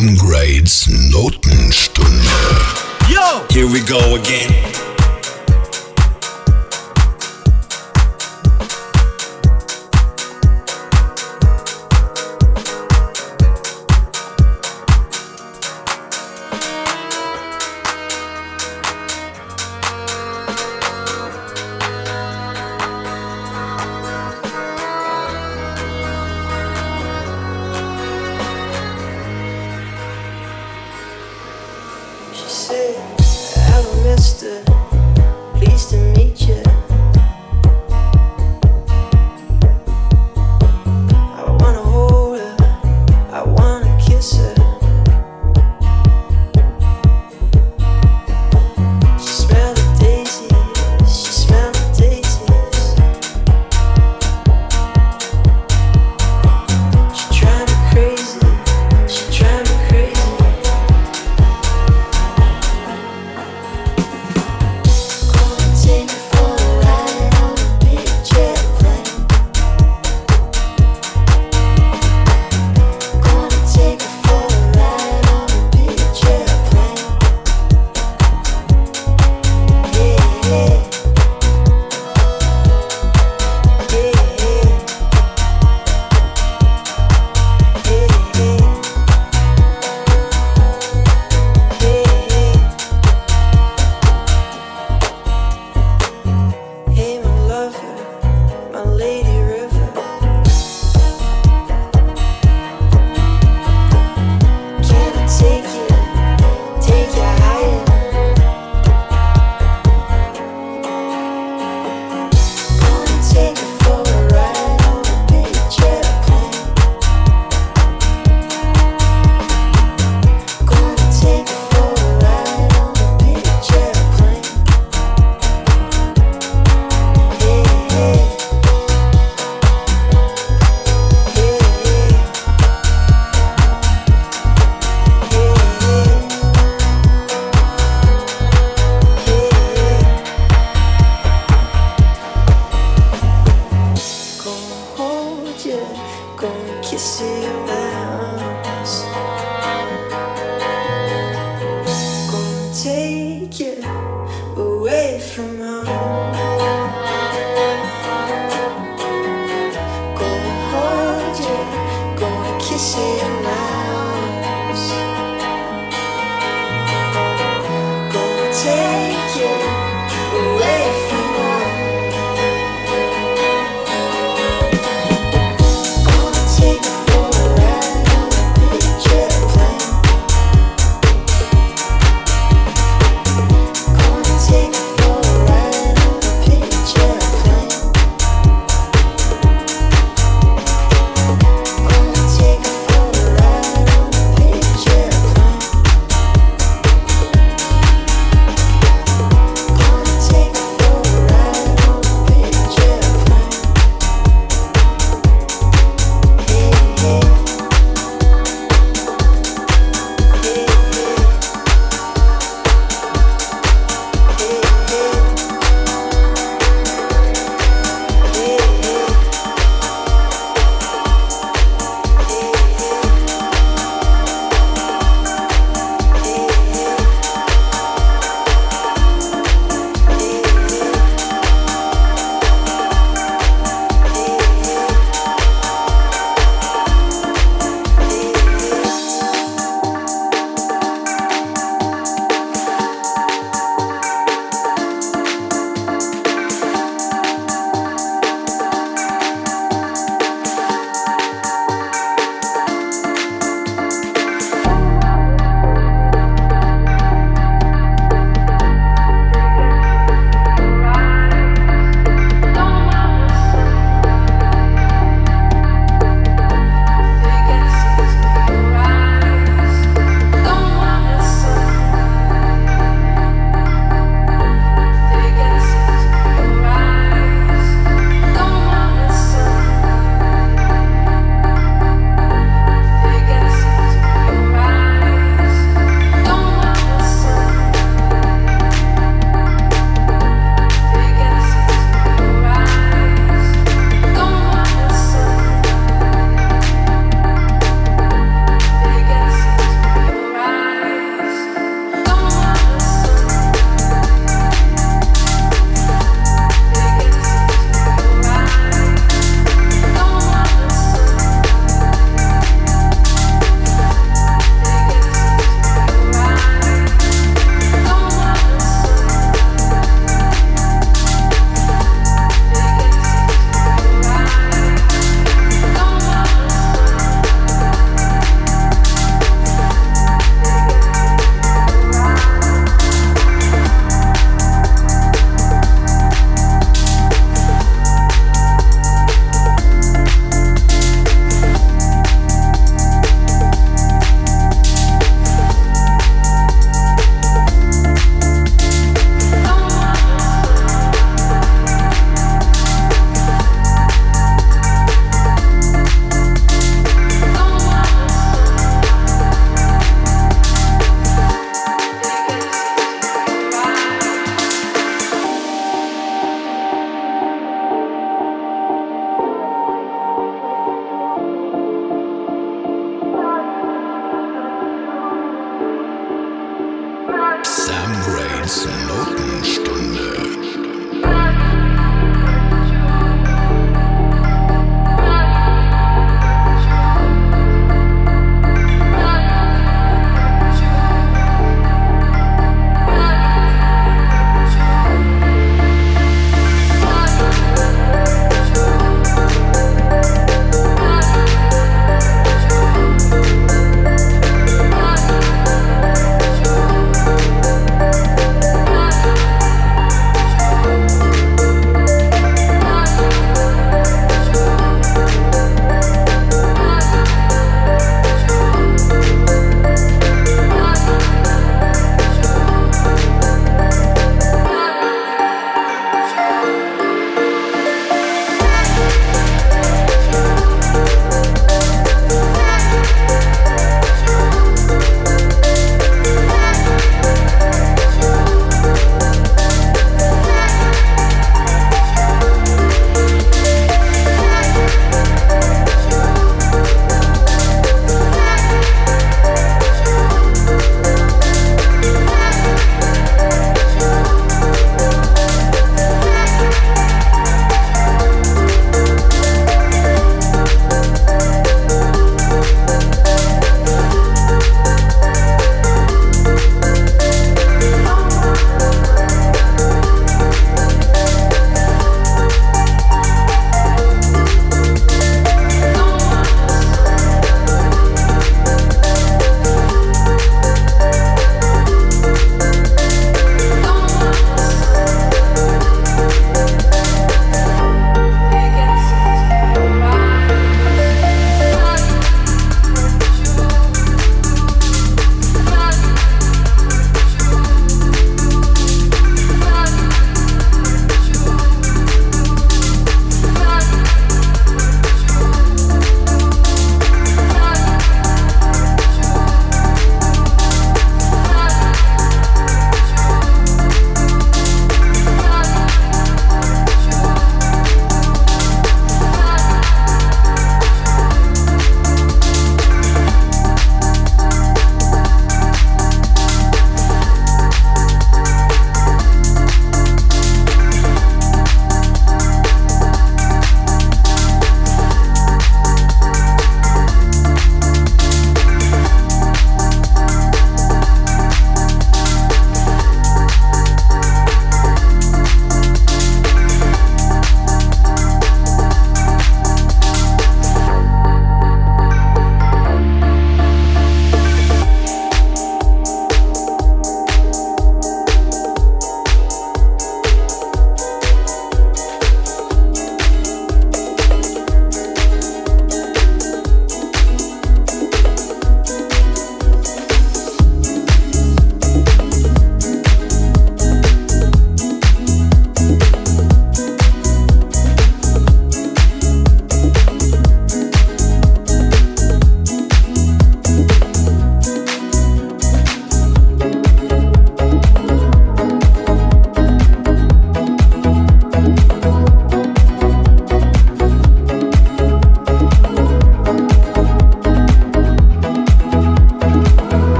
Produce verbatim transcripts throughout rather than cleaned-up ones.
Ungrades Notenstunde. Yo! Here we go again. Take it for a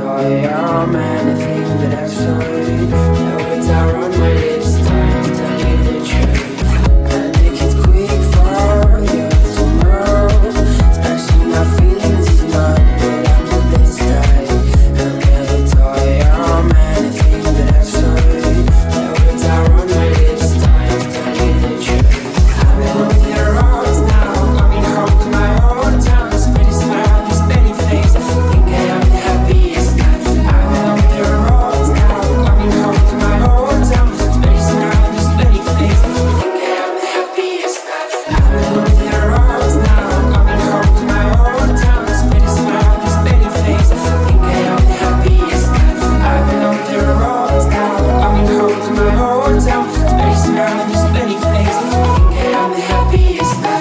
toy, I'm anything that I should. Now words are on my lips, time to tell you the truth. Gotta make it quick for you to know. Smashing my feelings is not what I'm the best at. I'm never toy, I'm anything that I should. Now words are on my lips, time to tell you the truth. I've been on the roads now, coming home to my old town. This pretty smile, this pretty face, think I am the happiest man. I've been on the roads now, coming home to my old town. This pretty smile, this pretty face, think I am the happiest man. I've been on the roads now, coming home to my old town. This pretty smile, this pretty face, think I am the happiest man. I've been on the roads now, coming home to my old town. This pretty smile, this pretty face, think I am the happiest man.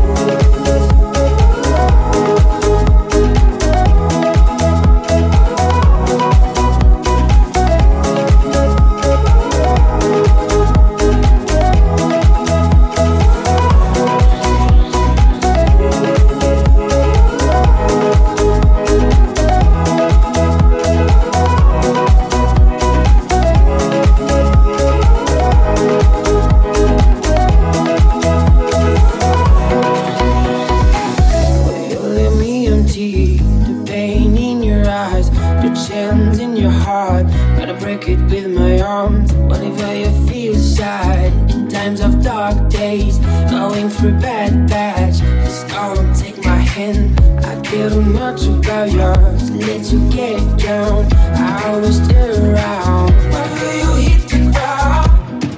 You leave me empty, the pain in your eyes, the chance in your heart. Gotta break it with my arms. Whenever you feel sad, in times of dark days, going through bad patch, just come take my hand. I care too much about yours, let you get down. I always stay around. Whenever you hit the ground,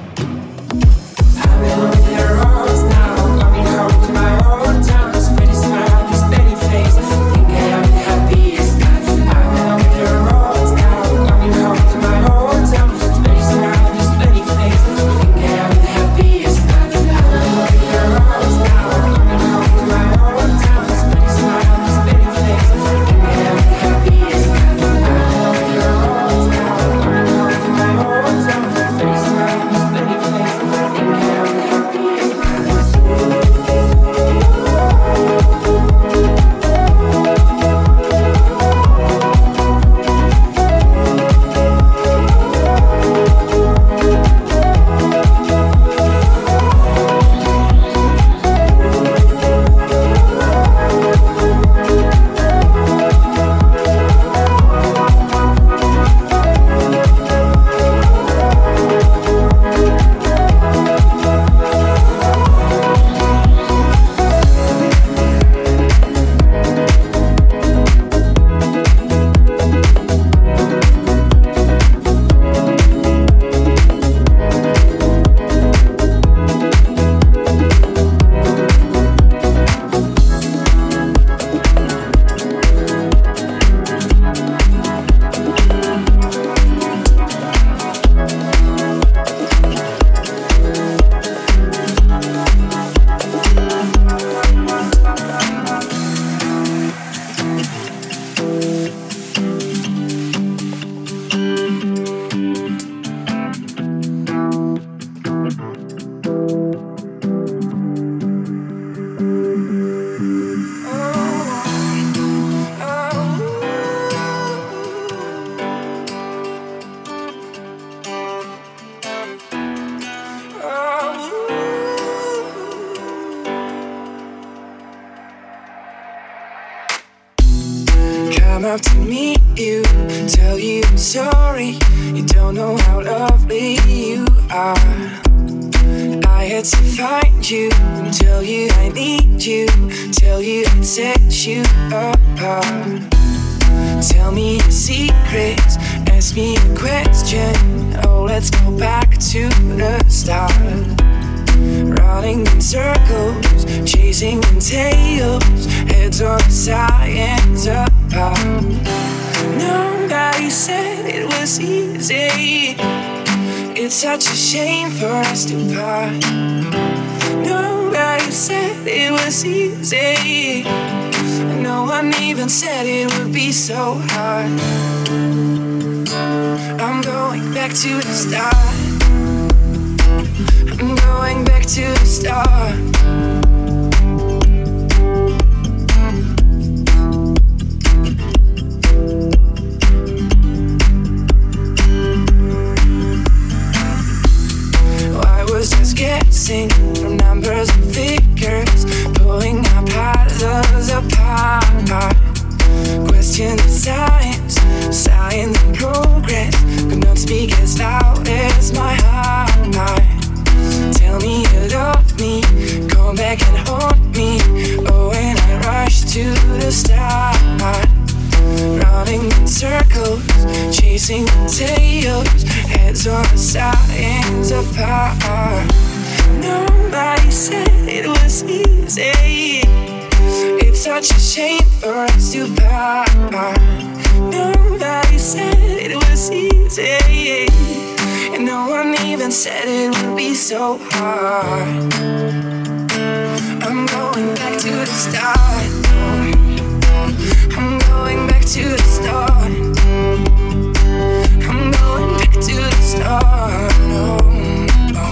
I've been on the roads now, coming home to my old town. This pretty smile, this pretty face, think I am the happiest man. I've been on the roads now, coming home to my old town. This pretty smile, this pretty face, think I am the happiest man. I've been on the roads now, coming home to my old town. This pretty smile, this pretty face, think I am the happiest man. I've been on the roads now, coming home to my old town. This pretty smile, this pretty face, think I am the happiest man. Come up to meet you, tell you I'm sorry. You don't know how lovely you are. I had to find you, tell you I need you, tell you I'd set you apart. Tell me your secrets, ask me a question. Oh, let's go back to the start. Running in circles, chasing in tails, heads on sides apart. Nobody said it was easy. It's such a shame for us to part. Nobody said it was easy. No one even said it would be so hard. I'm going back to the start. I'm going back to the start. single tales, heads on sides apart. Nobody said it was easy. It's such a shame for us to part. Nobody said it was easy, and no one even said it would be so hard. I'm going back to the start. I'm going back to the start. I'm going back to the start. Oh, oh.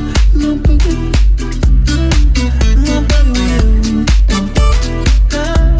Boogie.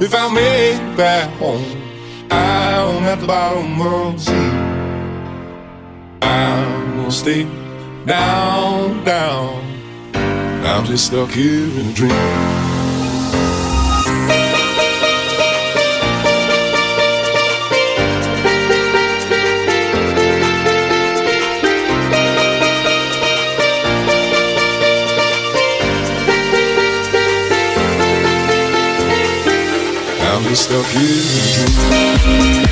if I make it back home, I'm at the bottom of the sea. I'm gonna stay down, down. I'm just stuck here in a dream. I'm just stuck here in a dream.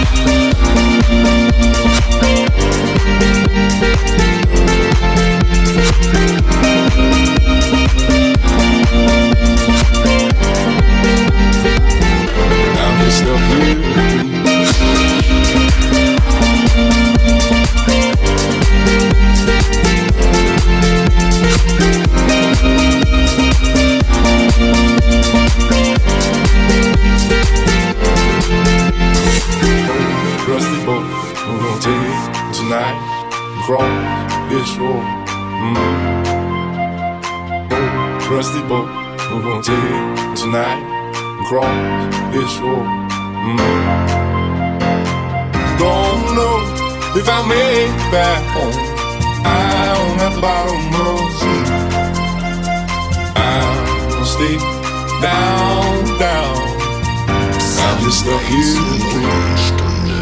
I'm just stuck here in a dream. Rusty boat, we're gonna take it tonight and cross this shore. Mm. Oh, rusty boat, we're gonna take it tonight and cross this shore. Mm. Don't know if I make it back home. I'm at the bottom of the sea. I'm gonna stay down, down. I'm just stuck here in a dream.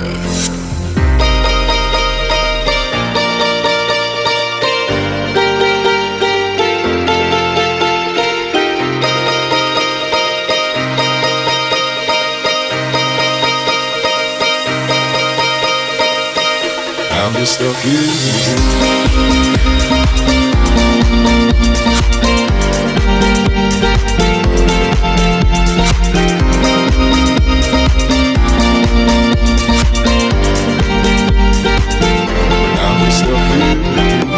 I'm just stuck here in a dream. I'm just stuck here in a dream.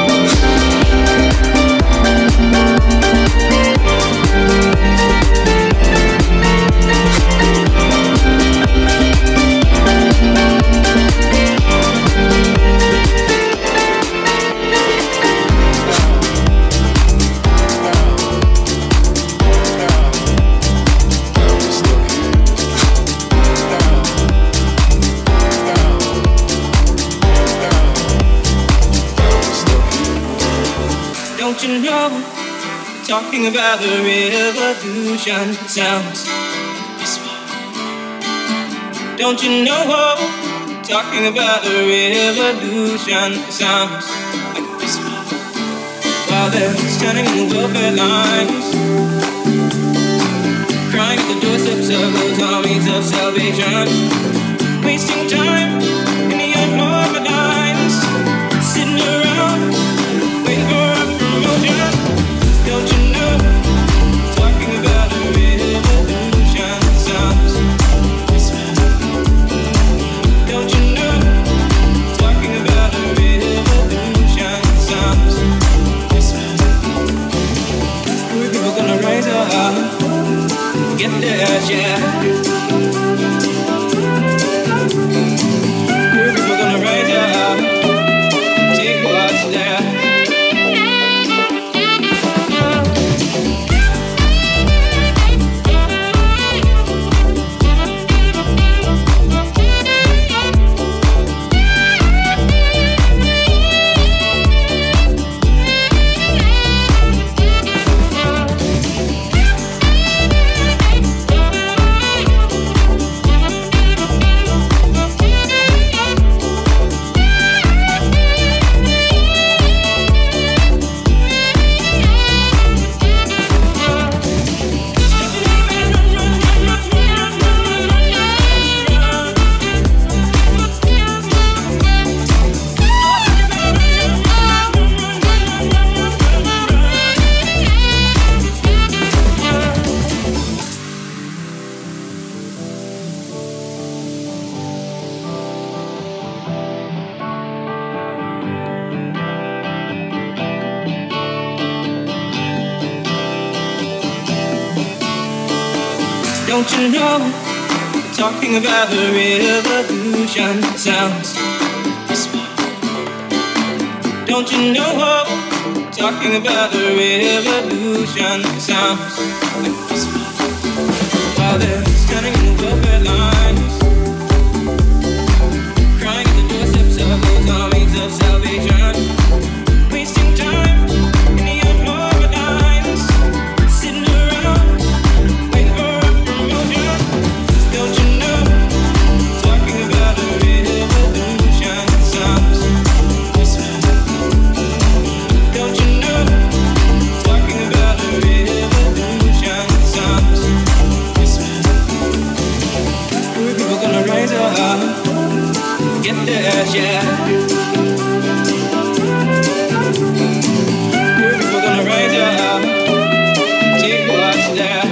Don't you know, talking about the revolution sounds whisper. Don't you know, talking about the revolution sounds like a whisper. While they're standing in the welfare lines, crying at the doorsteps of those armies of salvation, wasting time in the unorganized, sitting around waiting for a promotion. Don't you know, talking about a revolution sounds whisper. Don't you know, talking about a revolution sounds whisper. We're people gonna rise up, get there, yeah. We're people gonna rise up, take what's there. Don't you know, talking about the revolution sounds whisper. Don't you know, talking about the revolution sounds like whisper. While there's standing in the welfare lines, crying at the doorsteps of those armies of salvation, wasting time in the unemployment lines, sitting around waiting for a promotion. Don't you know, talking about a revolution sounds Christmas. Don't you know, talking about a revolution sounds Christmas. We're people gonna rise up, get there, yeah. We're people gonna rise up, take what's there.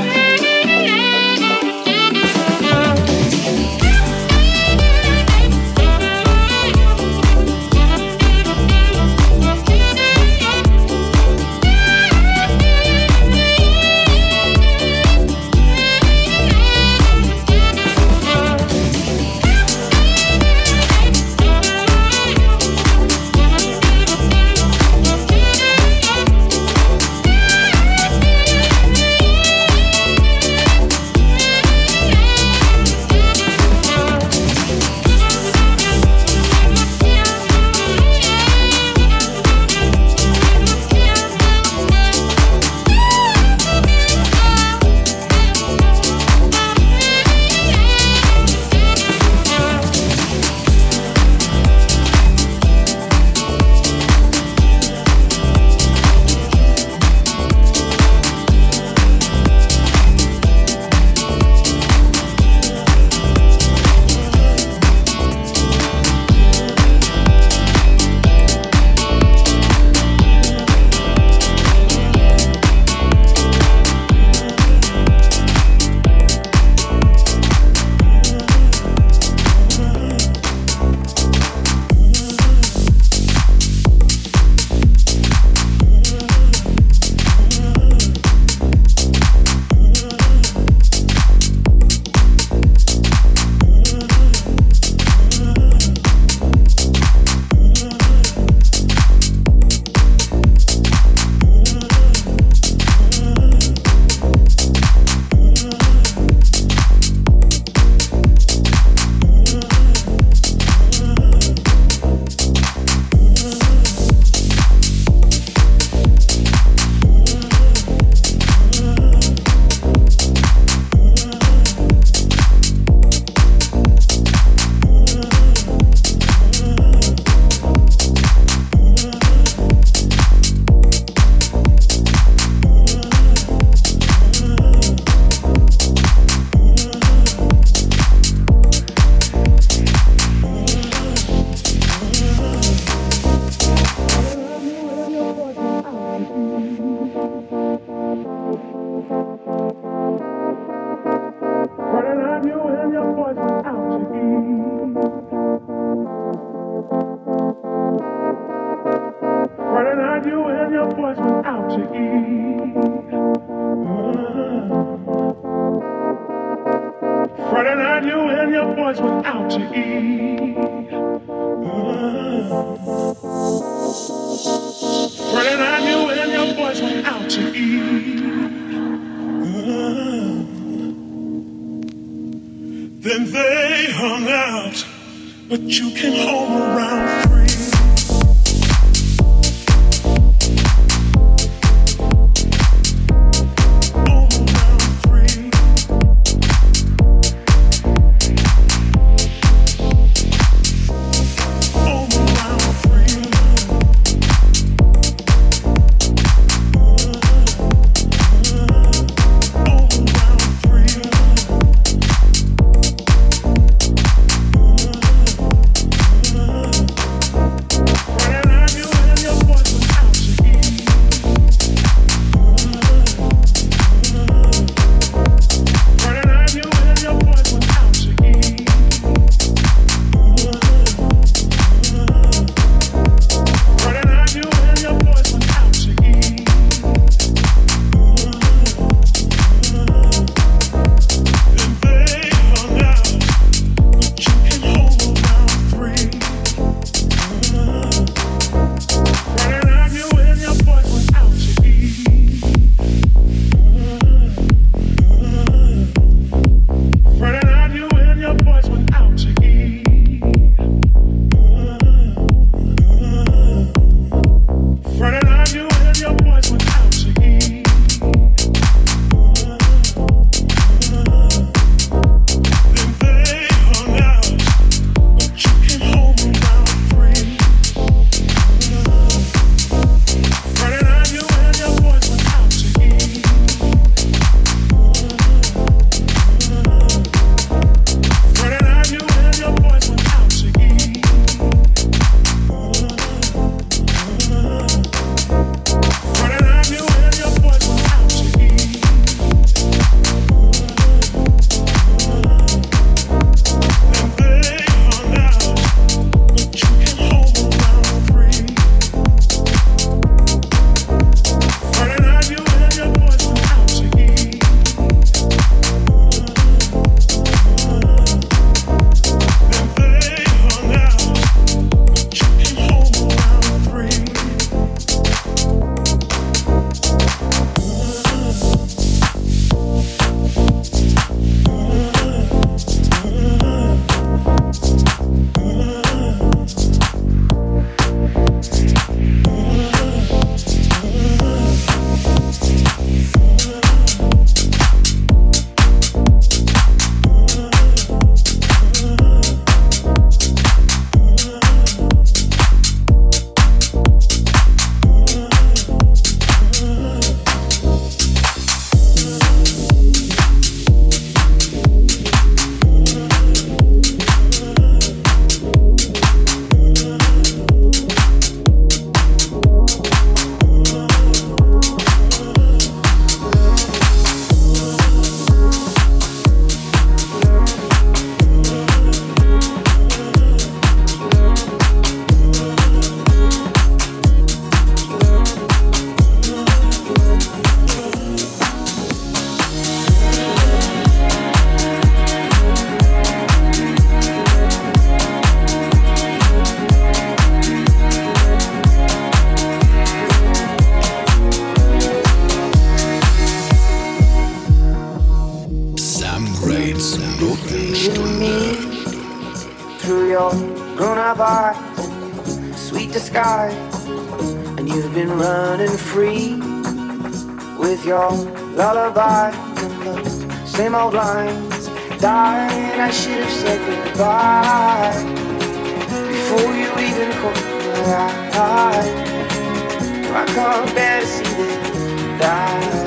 the sky, and you've been running free with your lullaby and those same old lines. Darling, I should have said goodbye before you even caught my eye. I can't bear to see them die.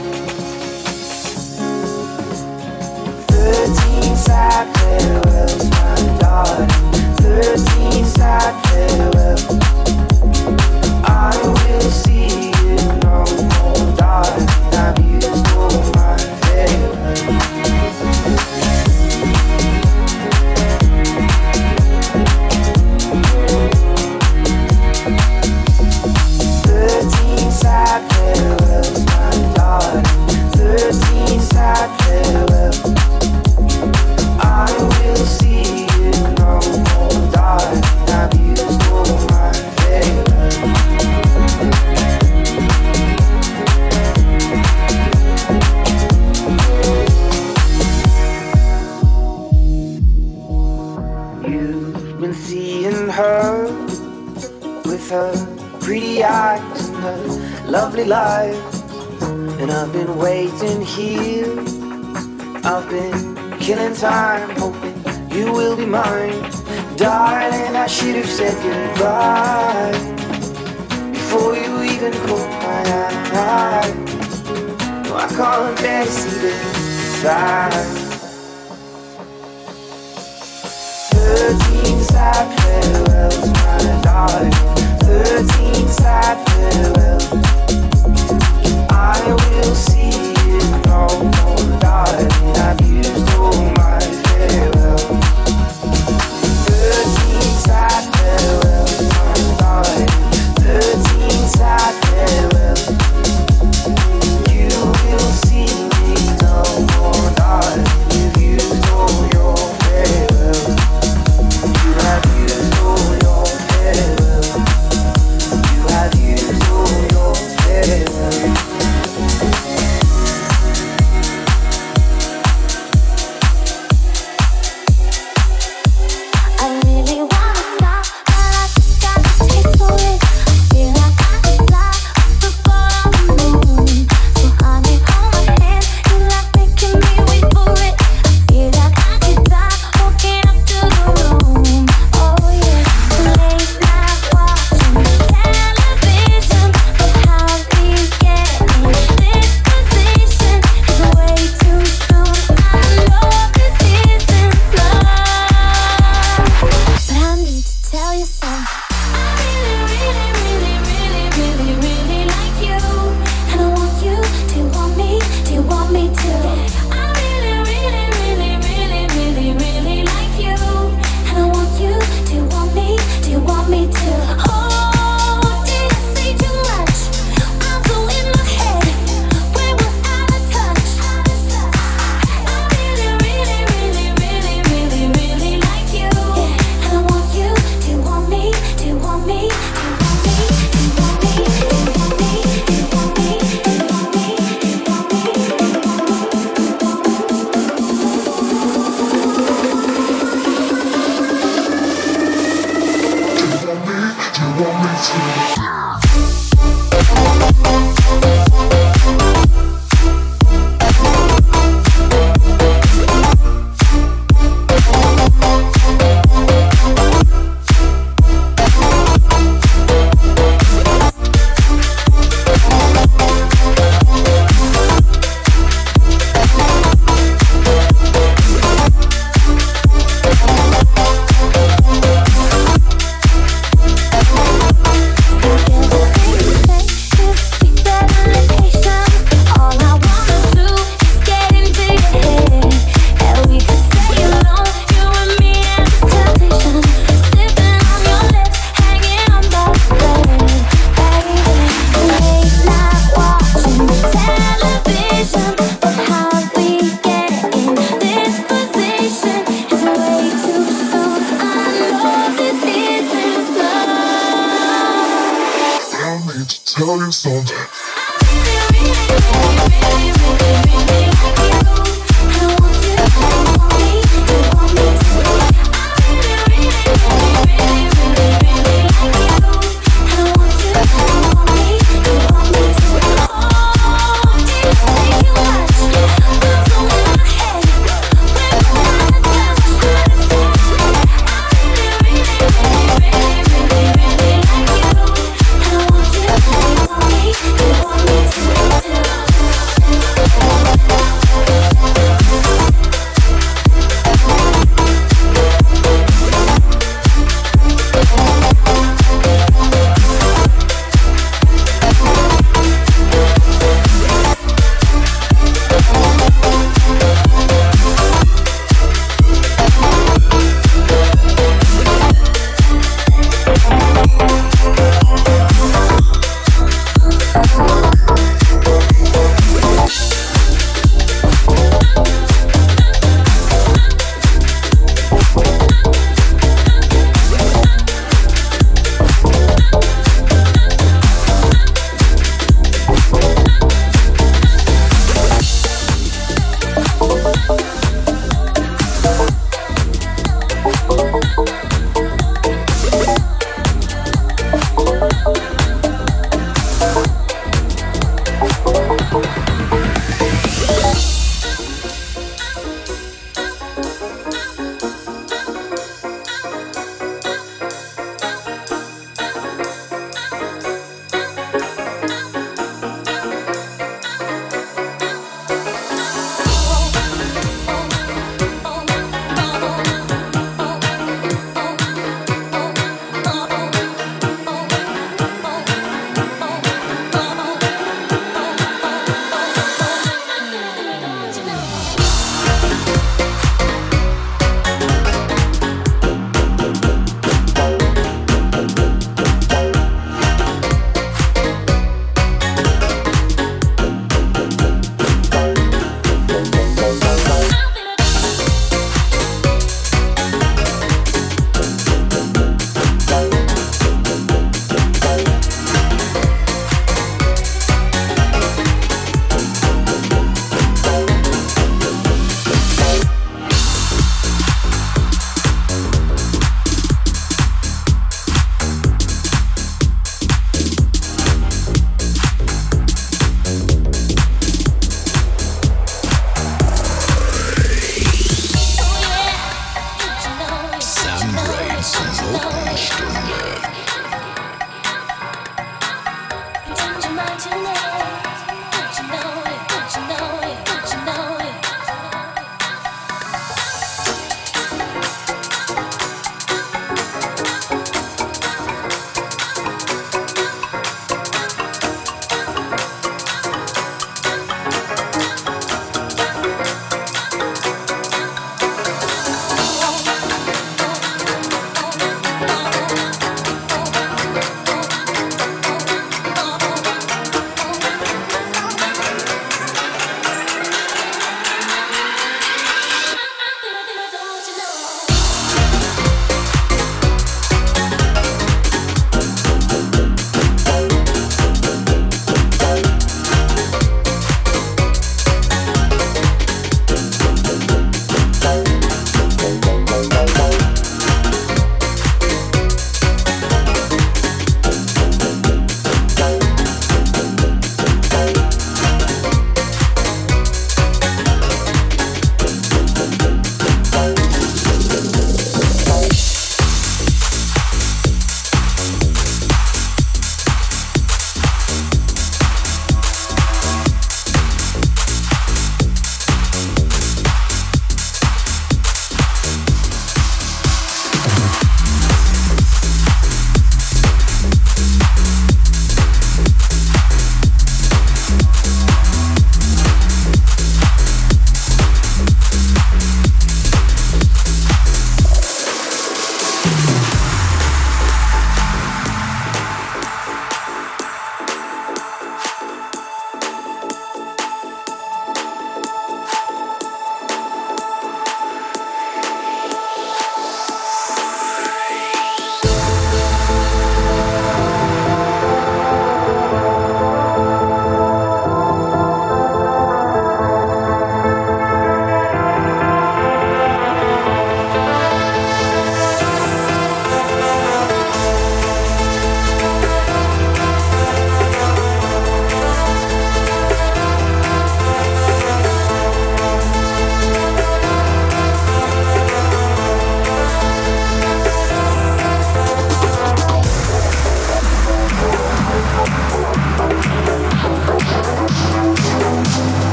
Thirteen sad farewells, my darling. Thirteen sad farewells. I will see you no more, darling. I've used all my farewells. Thirteen sad farewells, my darling. Thirteen sad farewells. I will see you no more, darling. I've used all my farewells. You've been seeing her with her pretty eyes and her lovely life, and I've been waiting here. I've been killing time, hoping you will be mine. Darling, I should have said goodbye before you even caught my eye. No, I can't bear to see this side. Thirteen sad farewells, my darling. Thirteen sad farewells. I will see you no more, darling. I've used all my farewells. Thirteen sad farewells, my darling. Thirteen sad farewells. You will see me no more, darling. You've used all your farewells. You have used all your farewells. You have used all your farewells. Tell you something. I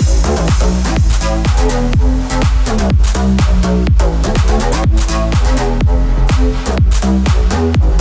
We'll be right back.